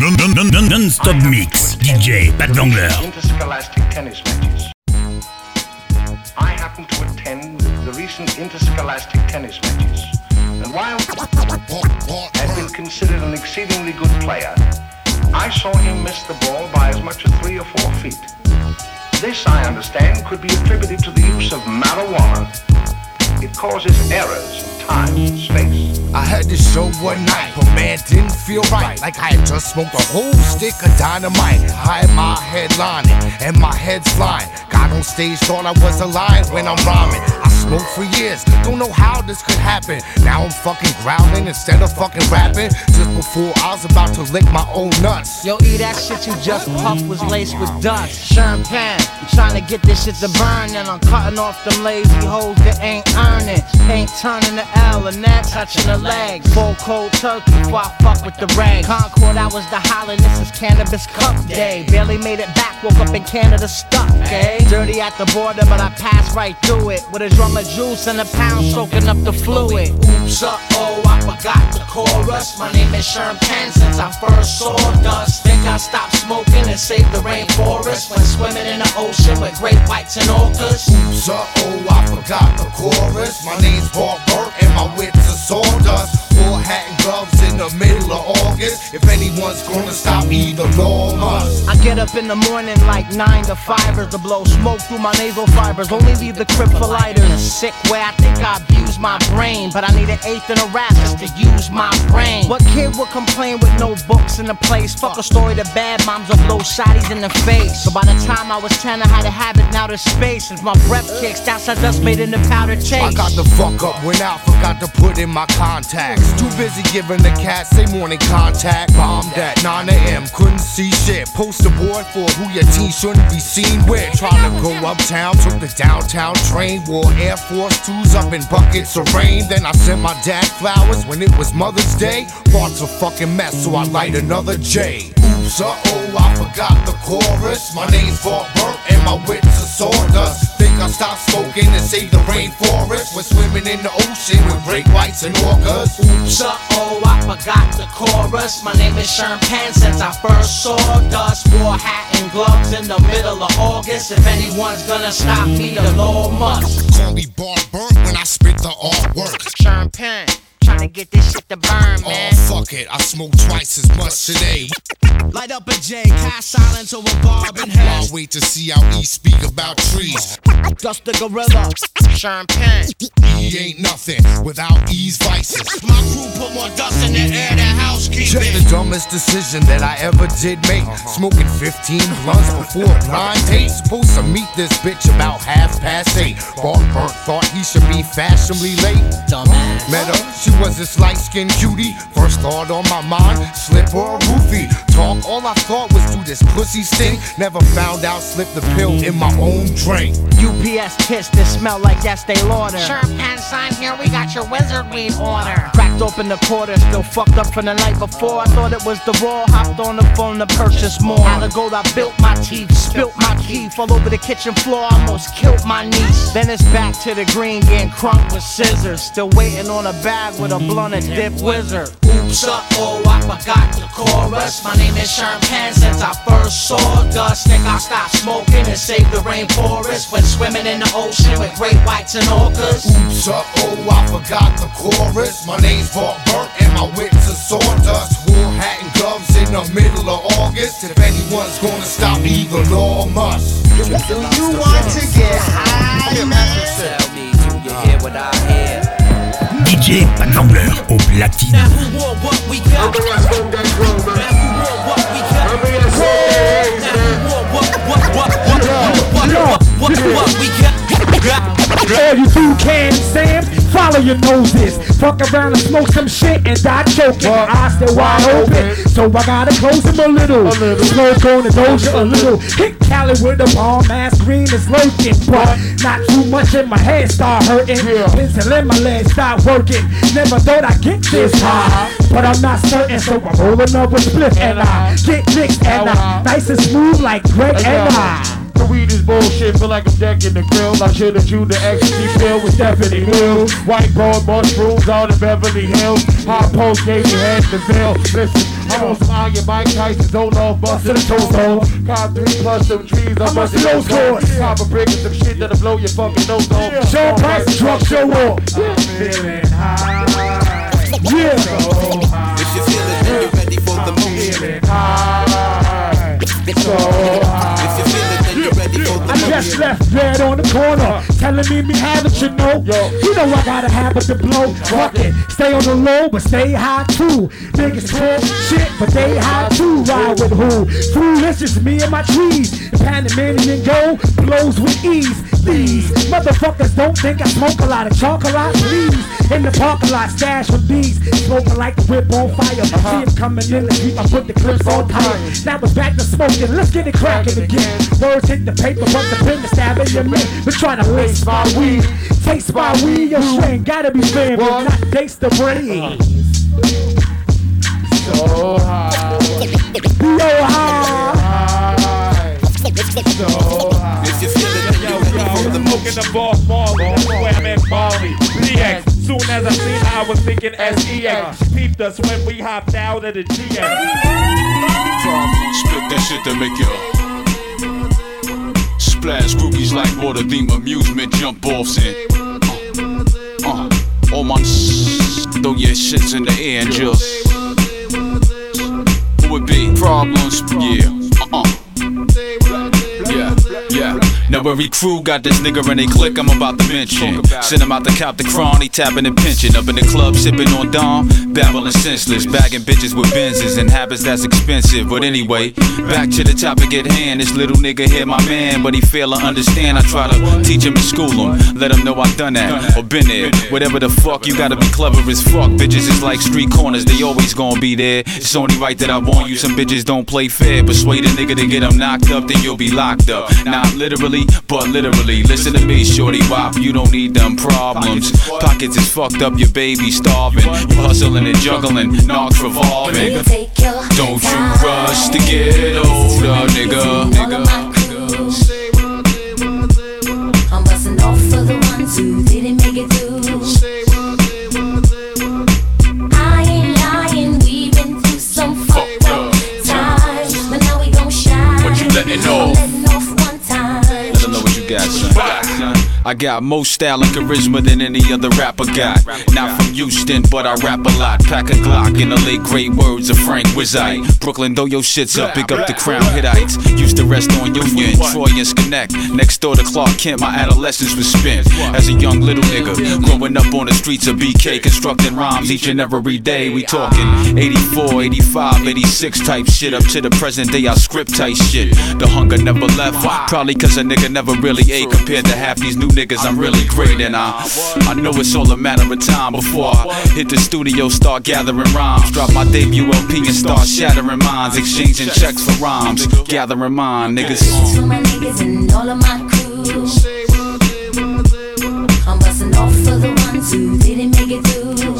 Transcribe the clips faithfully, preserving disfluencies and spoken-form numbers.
Non-stop mix, D J Pat Vangler. Interscholastic tennis matches. I happen to attend the recent interscholastic tennis matches, and while has been considered an exceedingly good player, I saw him miss the ball by as much as three or four feet. This, I understand, could be attributed to the use of marijuana. It causes errors in time and space. I had this show one night, but man, didn't feel right. Like I had just smoked a whole stick of dynamite. I had my head lining, and my head's flying. Got on stage, thought I was a lion when I'm rhyming. I smoked for years, don't know how this could happen. Now I'm fucking growling instead of fucking rapping. Just before I was about to lick my own nuts. Yo, E, that shit you just puffed was laced with dust. Champagne, trying to get this shit to burn. And I'm cutting off them lazy hoes that ain't earning. Ain't turning the L and that touching the legs. Full cold turkey before I fuck with the rag. Concord, I was the hollin', this is Cannabis Cup Day. Barely made it back, woke up in Canada stuck, eh? Dirty at the border, but I passed right through it. With a drum of juice and a pound soaking up the fluid. Oops, uh-oh, I forgot the chorus. My name is Sherm Penn since I first saw dust. Think I stopped smoking and saved the rainforest when swimming in the ocean with great whites and orcas. Oops, uh-oh, I forgot the chorus. My name's Bob Burt and my wits are sawdust. Wore hat and gloves in the middle of August. If anyone's gonna stop me, the law must. I get up in the morning like nine to fivers to blow smoke through my nasal fibers. Only leave the crib for lighters. In a sick way, I think I abused my brain, but I need an eighth and a rap just to use my brain. What kid would complain with no books in the place? Fuck a story to bad moms of low shotties in the face. So by the time I was ten, I had a habit now to space. Since my breath kicks, that's I just made in the powder chase. I got the fuck up, went out, forgot to put in my contacts. Too busy giving the cat say morning contact. Bombed at nine a.m. couldn't see shit. Poster board for who your teen shouldn't be seen with. Trying to go uptown, took the downtown train. Wore Air Force twos up in buckets of rain. Then I sent my dad flowers when it was Mother's Day. Thoughts a fucking mess, so I light another J. Oops, uh-oh, I forgot the chorus. My name's Bob Burt and my wits are sawdust. Think I stopped smoking and saved the rainforest when swimming in the ocean with great whites and orcas. Oops, uh-oh, I forgot the chorus. My name is Sherm Penn since I first saw dust. Wore hat and gloves in the middle of August. If anyone's gonna stop me, the law must. Call me Bob Burt when I spit the artwork. Sherm Penn, trying to get this shit to burn, man. Oh, fuck it, I smoked twice as much today. Light up a J, cast silent to a barb in hell. I'll wait to see how E speak about trees. Dust the gorilla, Sherm Penn. E ain't nothing without E's vices. My crew put more dust in the air than housekeeping. Just the dumbest decision that I ever did make. Smoking fifteen blunts before a blind date. Supposed to meet this bitch about half past eight. Bob Burt thought he should be fashionably late. Dumbass. Met her, she was this light-skinned cutie. First thought on my mind, slip or a roofie. Talk, all I thought was do this pussy stink. Never found out, slipped the pill in my own drink. U P S kiss that smell like Estee Lauder. Sherm Penn, sign here, we got your wizard weed order. Cracked open the quarter, still fucked up from the night before. I thought it was the raw, hopped on the phone to purchase more. Out of gold, I built my teeth, spilt my teeth all over the kitchen floor, almost killed my niece. Then it's back to the green, getting crunk with scissors. Still waiting on a bag with a blunt and dip wizard. Oops, uh-oh, I forgot the chorus. My name is Sherm Penn since I first saw dust. Think I stopped smoking and saved the rainforest when swimming in the ocean with great whites and orcas. Oops, uh-oh, I forgot the chorus. My name's Bob Burt and my wits are sawdust. Wore hat and gloves in the middle of August. If anyone's gonna stop me, the law must. Do you want to get high? Tell me, do you hear what I hear? D J Pat Vangler au platine. Now who want what we got? Now who want what we got? Now who want what, what, what, what, what, what, what, what, what we got? All you two can Sam, follow your noses. Fuck around and smoke some shit and die choking. My eyes still wide open, so I gotta close them a little. A little. Smoke on the doja a little. Hit Cali with a bomb ass green is lurking, but not too much in my head start hurting. Pencil in my legs start working. Never thought I'd get this high, but I'm not certain, so I'm rolling up with split and I get mixed and I nice and smooth like Greg and I. The weed is bullshit, feel like I'm decking the grill. I should've chewed the ecstasy pill with Stephanie Mills. White broad mushrooms out in Beverly Hills. Hot post gave me head to fill. Listen, I'm on some iron Mike Tyson, don't off, bustin' the toes off. Cop three plus some trees, I'm bustin' those off. Cop a brick and some shit that'll blow your fucking nose off. Show price, drop, show off. I'm feeling high. Yeah. So high. If you feel it, then you're ready for the motion. Feeling high. So high. If you feel it, then you're ready for the I motion. just left dead on the corner, telling me me have it, you know. Yo. You know I gotta have it to blow. Fuck it, stay on the low, but stay high too. Niggas talk shit, but they high too. Ride with who? Foolish is me and my trees. The Panamanian go blows with ease. These motherfuckers don't think I smoke a lot of chocolate, please. In the parking lot, stash with these. Smoking like a whip on fire. Uh-huh. See it coming in the Jeep, I put the clips on tight. Now it's back to smoking, let's get it cracking again. Words hit the paper, but the pen to stab in your man. We're trying to lace my weed. Taste my weed, your strain gotta be fair, but not taste the brain. So high. Yo, high. So high. If you feel it, then you're ready for the Smoking motion. the boss Marley, that's where I'm at Bali. D X, soon as I seen her, I was thinking S E X. Peeped us when we hopped out of the G X. Split that shit to make you splash groupies like water, theme amusement, jump offs in. Uh, uh, all my s- throw your shits in the air and just who would be problems? Yeah, uh-uh. Yeah, yeah. Now every crew got this nigga and they click I'm about to mention. Send him out to cop the crawny, tapping and pinching. Up in the club, sipping on Dom, babbling senseless. Bagging bitches with Benzes and habits that's expensive. But anyway, back to the topic at hand. This little nigga here my man, but he fail to understand. I try to teach him and school him, let him know I done that or been there. Whatever the fuck, you gotta be clever as fuck. Bitches is like street corners, they always gonna be there. It's only right that I warn you, some bitches don't play fair. Persuade a nigga to get them knocked up, then you'll be locked up. Not literally, but literally. Listen to me, shorty wop, you don't need them problems. Pockets is fucked up, your baby starving. You hustling and juggling, knocks revolving. Don't you rush to get older, nigga. nigga. I'm busting off for the ones who didn't make it through. I ain't lying, we've been through some fucked up times, but now we gon' shine. What you letting know? Letting off one time. Let them know what you got, son. I got more style and charisma than any other rapper got. Not from Houston, but I rap a lot. Pack a Glock in the late great words of Frank Wizite. Brooklyn, throw your shits up, pick up the Crown Hittites. Used to rest on Union, Troy and Schenect. Next door to Clark Kent, my adolescence was spent as a young little nigga. Growing up on the streets of B K, constructing rhymes each and every day. We talking eighty-four, eighty-five, eighty-six type shit. Up to the present day, I script type shit. The hunger never left, probably cause a nigga never really ate. Compared to half these new niggas, I'm really great. And I, I know it's all a matter of time before I hit the studio, start gathering rhymes. Drop my debut L P and start shattering minds. Exchanging checks for rhymes, gathering mine, niggas. This is for my niggas and all of my crew. I'm busting off for the ones who didn't make it through.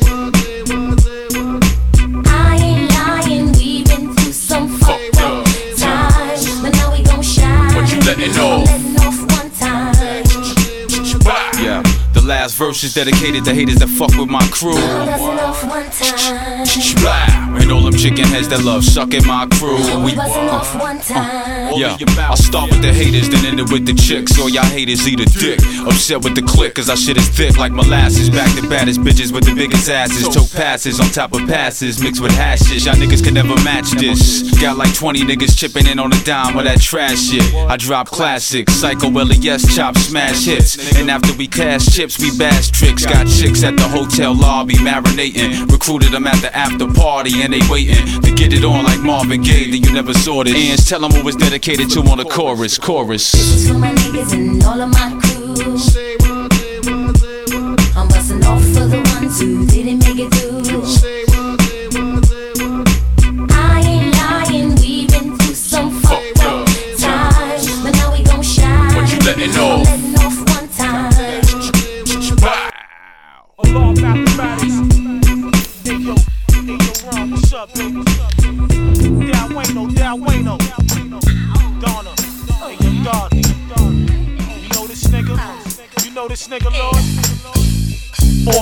I ain't lying, we've been through some fucked up times, but now we gon' shine. What you letting know? Letting off one time. Yeah, the last verse is dedicated to haters that fuck with my crew. Busting off one time. Blah. And all them chicken heads that love sucking my crew. We Busting off one time. Yeah, I'll start with the haters, then end it with the chicks. All y'all haters eat a dick. Upset with the click, cause our shit is thick like molasses. Back to baddest bitches with the biggest asses. Tote passes on top of passes, mixed with hashes. Y'all niggas can never match this. Got like twenty niggas chipping in on the dime with that trash shit. I drop classics, Psycho L E S, chop smash hits. And after we cash chips, we bash tricks. Got chicks at the hotel lobby marinating. Recruited them at the after party and they waiting to get it on like Marvin Gaye. Then you never saw it. And tell them what was dedicated to on the chorus, chorus. This is for my niggas and all of my crew. I'm busting off for the ones who didn't make it through. I ain't lying, we've been through some fucked up times, but now we gon' shine. What you letting know? Letting off one time. Alarm mathematics. Hey yo, hey yo, Ron, what's up, baby? Down Wayno, down Wayno. Donna, hey yo, Donna. You know this nigga? You know this nigga, Lord? All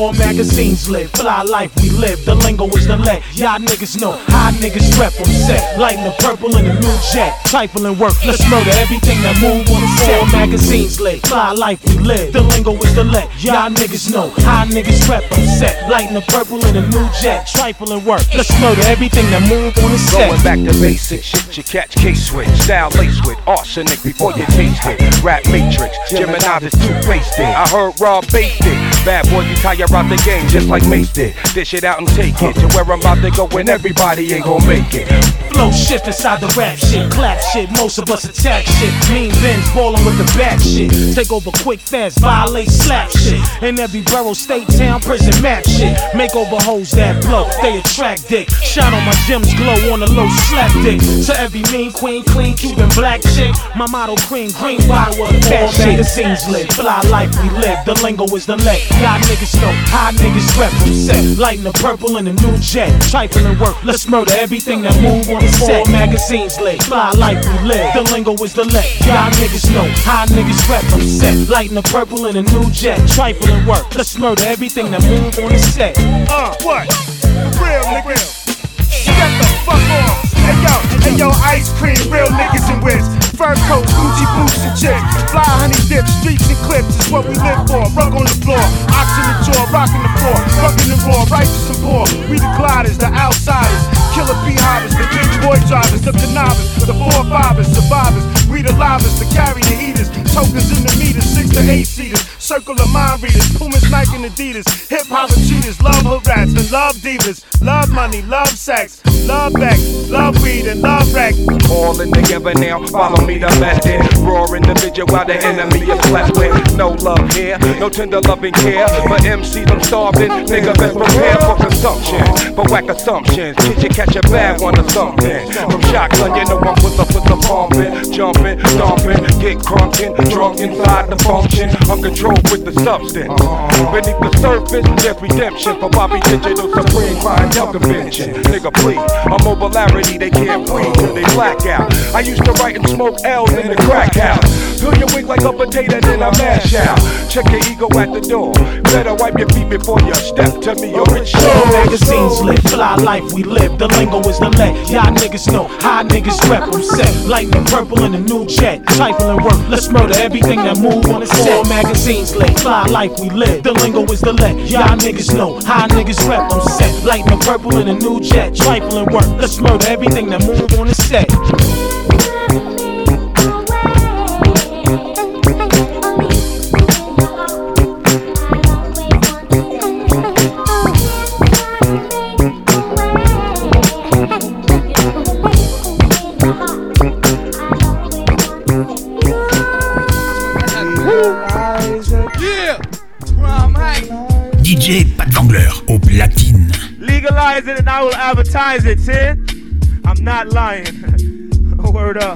All magazines lit, fly life we live. The lingo is the let y'all niggas know how niggas rep on set. Lighting the purple in the new jet. Trifling work, let's murder everything that move on the set. All magazines lit, fly life we live. The lingo is the let y'all niggas know how niggas rep on set. Lighting the purple in the new jet. Trifling work, let's murder everything that move on the set. Going back to basics, shit you catch K-switch. Style lace with arsenic before you taste it. Rap matrix, Gemini's is two-faced it. I heard Rob based it. Bad boy, you tire out the game just like Mace did. Dish it out and take it to where I'm about to go when everybody ain't gon' make it. Flow shift inside the rap shit, clap shit, most of us attack shit. Mean Benz ballin' with the back shit. Take over quick fast, violate slap shit. In every borough, state, town, prison, map shit. Make over hoes that blow, they attract dick. Shine on my gems, glow on the low, slap dick. To every mean queen, clean, Cuban black chick. My motto cream, green bottle of fat shit. Magazines lit, fly life we live. The lingo is the let y'all niggas know how niggas rep from set. Lighting the purple in the new jet. Trifling work, let's murder everything that move on the set. Magazines lit, fly life we live. The lingo is the let y'all niggas know how niggas rep from set. Lighting the purple in the new jet. Trifling work, let's murder everything that move on the set. Uh, what? Real niggas. Shut the fuck off. Hey yo, hey yo, ice cream, real niggas and whips. Fur coat, Gucci boots and chicks. Fly honey dip, streets and clips is what we live for. Rug on the floor, ox in the jaw, rocking the floor, fucking the raw, righteous and poor. We the gliders, the outsiders, killer beehives, the big boy drivers, the connivers, the four fivers, survivors. We the livers, the carry the heaters, tokens in the meters, six to eight seaters, circle of mind readers, Pumas, Nike and Adidas, hip hop and cheaters, love hood rats and love divas, love money, love sex, love back, love weed and love rack. All in together now, follow me to let it. Roar individual while the enemy is left with. No love here, no tender loving care. But M Cs I'm starving, nigga best prepare for consumption. For whack assumptions, did you catch a bad one or something? From shotgun, you know I'm with the, with the pumping, jumping, stomping, get crunking, drunk inside the function. Uncontrolled with the substance. Beneath the surface, there's redemption for Bobby Digital Supreme Clientele Convention. Nigga please, a mobilarity they can't breathe till they black out. I used to write and smoke L's in the crack house. Fill your wig like a potato, then I mash out. Check your ego at the door. Better wipe your feet before you step to me or it's All magazines lit, fly life we live. The lingo is the let y'all niggas know how niggas rep on set. Lightning purple in the new jet. Trifling work, let's murder everything that move on the set. All magazines lit, fly life we live. The lingo is the let y'all niggas know how niggas rep on set. Lightning purple in the new jet. Trifling work, let's murder everything that move on the set. D J Pat Vangler au platine. Legalize it and I will advertise it, see? I'm not lying. Word up.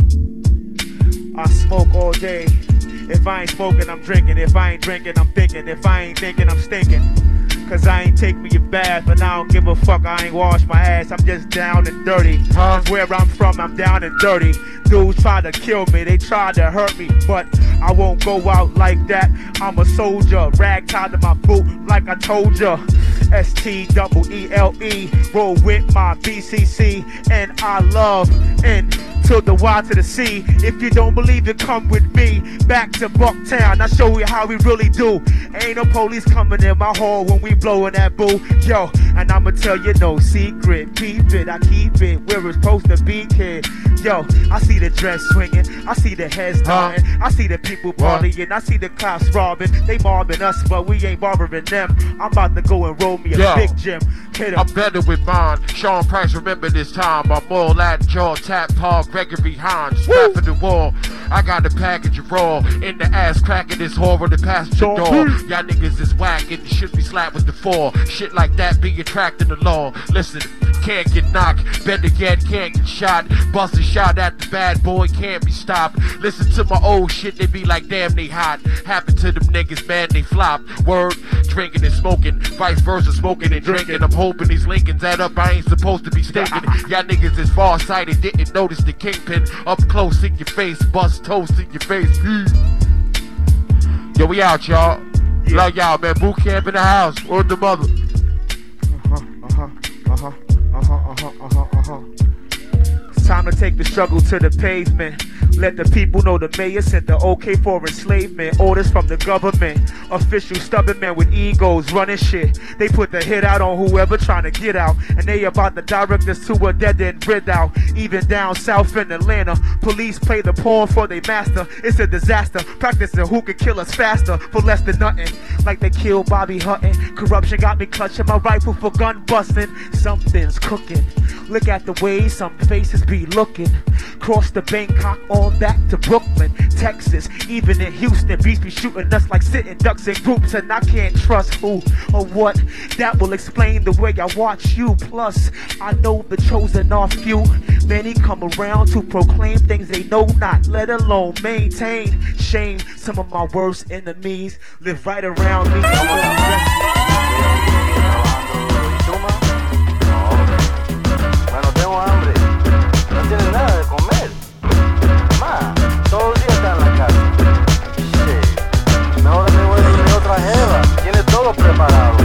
I smoke all day. If I ain't smoking, I'm drinking. If I ain't drinking, I'm thinking. If I ain't thinking, I'm stinking. Cause I ain't take me a bath, and I don't give a fuck, I ain't wash my ass, I'm just down and dirty. Huh? Where I'm from, I'm down and dirty. Dudes try to kill me, they try to hurt me, but I won't go out like that. I'm a soldier, rag tied to my boot like I told ya. S T E E L E, roll with my B C C, and I love and to the Y to the C. If you don't believe it, come with me back to Bucktown. I'll show you how we really do. Ain't no police coming in my hall when we blowing that boo. Yo, and I'ma tell you no secret. Keep it, I keep it where it's supposed to be, kid. Yo, I see the dress swinging, I see the heads nodding, I see the people partying, I see the cops robbing. They mobbing us, but we ain't bothering them. I'm about to go and roll me a Yo, big gym. I'm better with mine. Sean Price, remember this time. I'm all that jaw, tap, Paul, Gregory Hines, strap for the wall. I got a package of raw in the ass cracking this horror the passenger door. Y'all niggas is whack and should be slapped with the four. Shit like that be attracting the law. Listen, can't get knocked, better yet can't get shot. Bust a shot at the bad boy, can't be stopped. Listen to my old shit, they be like damn they hot. Happen to them niggas, man, they flop. Word, drinking and smoking, vice versa, smoking and drinking. I'm hoping these Lincolns add up, I ain't supposed to be stinking. Y'all niggas is far-sighted, didn't notice the kingpin up close in your face, bust toast in your face. Yo, we out, y'all. Yeah. Love y'all, man. Boot camp in the house. Word the mother. Uh-huh, uh-huh, uh-huh, uh-huh, uh-huh, uh-huh. It's time to take the struggle to the pavement. Let the people know the mayor sent the okay for enslavement. Orders from the government. Official stubborn men with egos running shit. They put the hit out on whoever trying to get out. And they about to direct us to a dead end rid out. Even down south in Atlanta, police play the pawn for their master. It's a disaster. Practicing who can kill us faster for less than nothing. Like they killed Bobby Hutton. Corruption got me clutching my rifle for gun busting. Something's cooking. Look at the way some faces be looking. Cross the Bangkok on back to Brooklyn, Texas. Even in Houston, beats be shooting us like sitting ducks in groups. And I can't trust who or what. That will explain the way I watch you. Plus, I know the chosen are few. Many come around to proclaim things they know not, let alone maintain. Shame, some of my worst enemies live right around me. Bueno, tengo hambre. No tienes nada de comer. Ma, todo el día está en la casa. Shit. Mejor me voy a ir a otra jeva. Tiene todo preparado.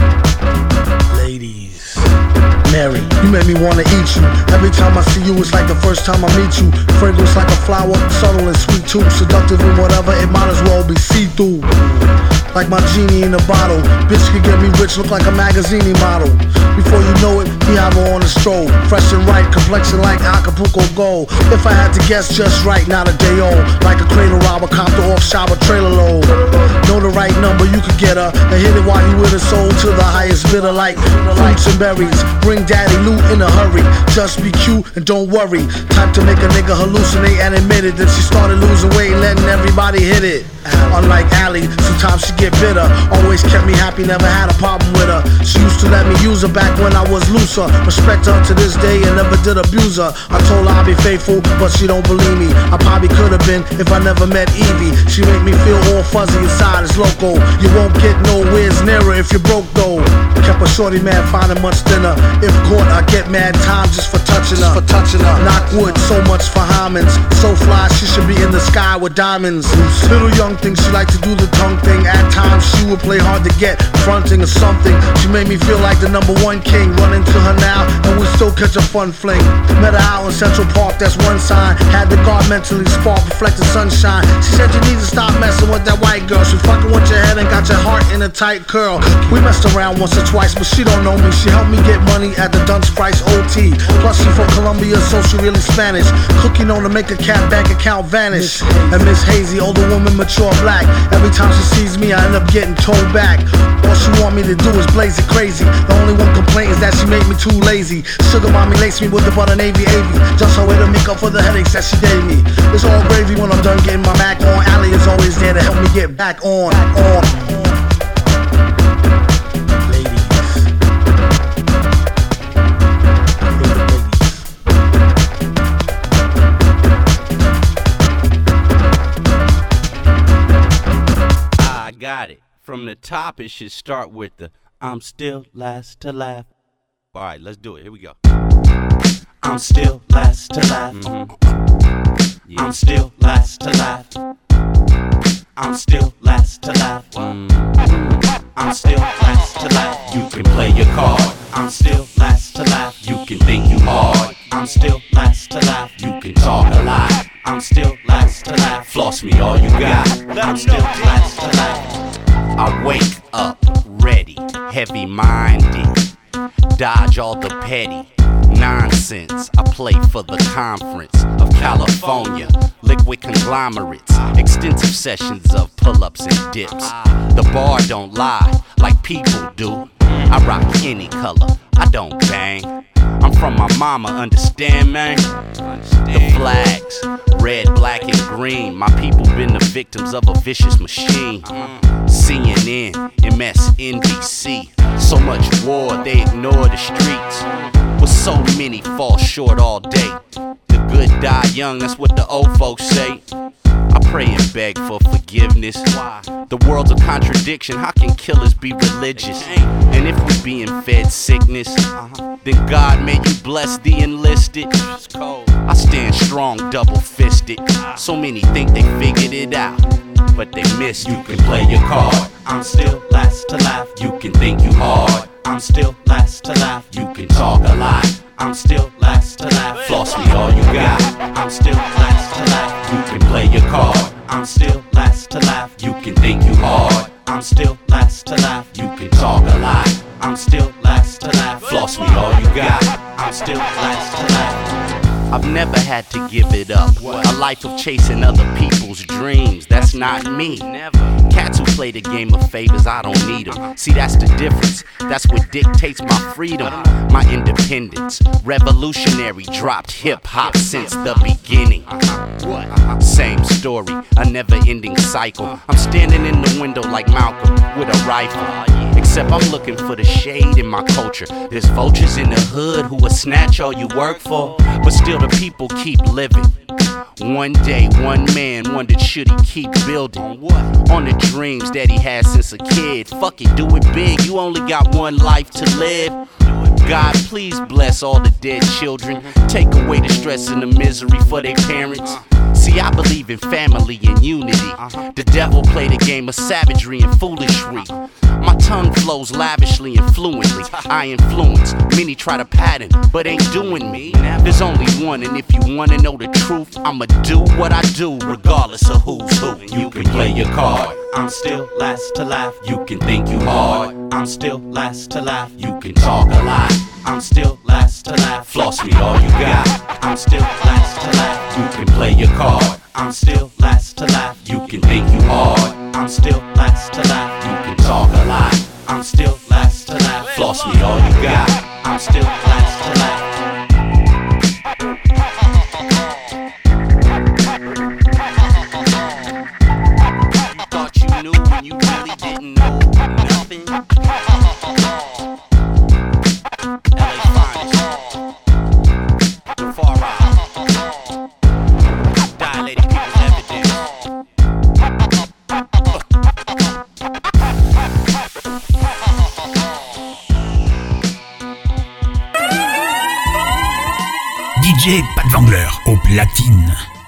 Ladies, Mary, you make me wanna eat you. Every time I see you, it's like the first time I meet you. Fragrance like a flower, subtle and sweet too. Seductive and whatever, it might as well be see-through. Like my genie in a bottle. Bitch could get me rich, look like a magazine model. Before you know it, he have her on the stroll. Fresh and right, complexion like Acapulco gold. If I had to guess, just right, not a day old. Like a cradle robber, copter off shower trailer load. Know the right number, you could get her and hit it while you with her soul to the highest bidder. Like fruits and berries, bring daddy loot in a hurry. Just be cute and don't worry. Time to make a nigga hallucinate and admit it. Then she started losing weight, letting everybody hit it. Unlike Allie, sometimes she get bitter. Always kept me happy, never had a problem with her. She used to let me use her back when I was looser. Respect her to this day and never did abuse her. I told her I'd be faithful, but she don't believe me. I probably could have been if I never met Evie. She make me feel all fuzzy inside, it's loco. You won't get nowhere near her if you're broke though. Kept a shorty mad, finding much thinner. If caught, I get mad time just for touching her. For touching her. Knock wood, so much for Hymens. So fly, she should be in the sky with diamonds. Little young thing, she like to do the tongue thing. At times she would play hard to get, fronting or something. She made me feel like the number one king. Run into her now and we still catch a fun fling. Met her out in Central Park, that's one sign. Had the guard mentally spark, reflecting sunshine. She said you need to stop messing with that white girl. She fucking with your head and got your heart in a tight curl. We messed around once or twice, but she don't know me. She helped me get money at the Dunce Price O T. Plus she from Colombia, so she really Spanish. Cookie known to make a cat bank account vanish. And Miss Hazy, older woman, mature black. Every time she sees me, I end up getting told back. All she want me to do is blaze it crazy. The only one complaint is that she made me too lazy. Sugar mommy laced me with the butter navy avy. Just her way to make up for the headaches that she gave me. It's all gravy when I'm done getting my back on. Allie is always there to help me get back on. On. Got it. From the top, it should start with the I'm still last to laugh. All right, let's do it. Here we go. I'm still last to laugh. Mm-hmm. Yeah. I'm still last to laugh. I'm still last to laugh. Mm-hmm. I'm still last to laugh. You can play your card. I'm still last to laugh. You can think you hard. I'm still last to laugh. You can talk a lot. I'm still last to laugh. Floss me all you got. I'm still last to laugh. I wake up ready, heavy-minded. Dodge all the petty nonsense. I play for the conference of California. Liquid conglomerates. Extensive sessions of pull-ups and dips. The bar don't lie like people do. I rock any color. I don't bang. I'm from my mama, understand, man? The flags, red, black, and green. My people been the victims of a vicious machine. C N N, M S N B C. So much war, they ignore the streets. With so many fall short all day. The good die young, that's what the old folks say. I pray and beg for forgiveness. The world's a contradiction, how can killers be religious? And if we being fed sickness, then God may you bless the enlisted. I stand strong, double fisted. So many think they figured it out. but they miss. You can play your card. I'm still last to laugh. You can think you hard. I'm still last to laugh. You can talk a lot. I'm still last to laugh. Floss me all you got. I'm still last to laugh. You can play your card. I'm still last to laugh. You can think you hard. I'm still last to laugh. You can talk a lot. I'm still last to laugh. Floss me all you got. I'm still last to laugh. I've never had to give it up. A life of chasing other people's dreams. That's not me. Cats who play the game of favors, I don't need them. See, that's the difference. That's what dictates my freedom, my independence. Revolutionary, dropped hip hop since the beginning. Same story, a never ending cycle. I'm standing in the window like Malcolm with a rifle. Except I'm looking for the shade in my culture. There's vultures in the hood who will snatch all you work for, but still the people keep living. One day, one man wondered should he keep building on the dreams that he had since a kid. Fuck it, do it big, you only got one life to live. God, please bless all the dead children. Take away the stress and the misery for their parents. See, I believe in family and unity. The devil played a game of savagery and foolishry. My tongue flows lavishly and fluently. I influence, many try to pattern, but ain't doing me. There's only one, and if you wanna know the truth, I'ma do what I do, regardless of who's who. You can play your card. I'm still last to laugh. You can think you hard. I'm still last to laugh. You can talk a lot. I'm still last to laugh. Floss me all you got. I'm still last to laugh. You can play your card. I'm still last to laugh. You can think you hard. I'm still last to laugh. You can talk a lot. I'm still last to laugh. Floss me all you got. I'm still last to laugh. You thought you knew when you really didn't know nothing. L A finest. The far out. Dilated people's evidence. D J Pat Wangler au platine.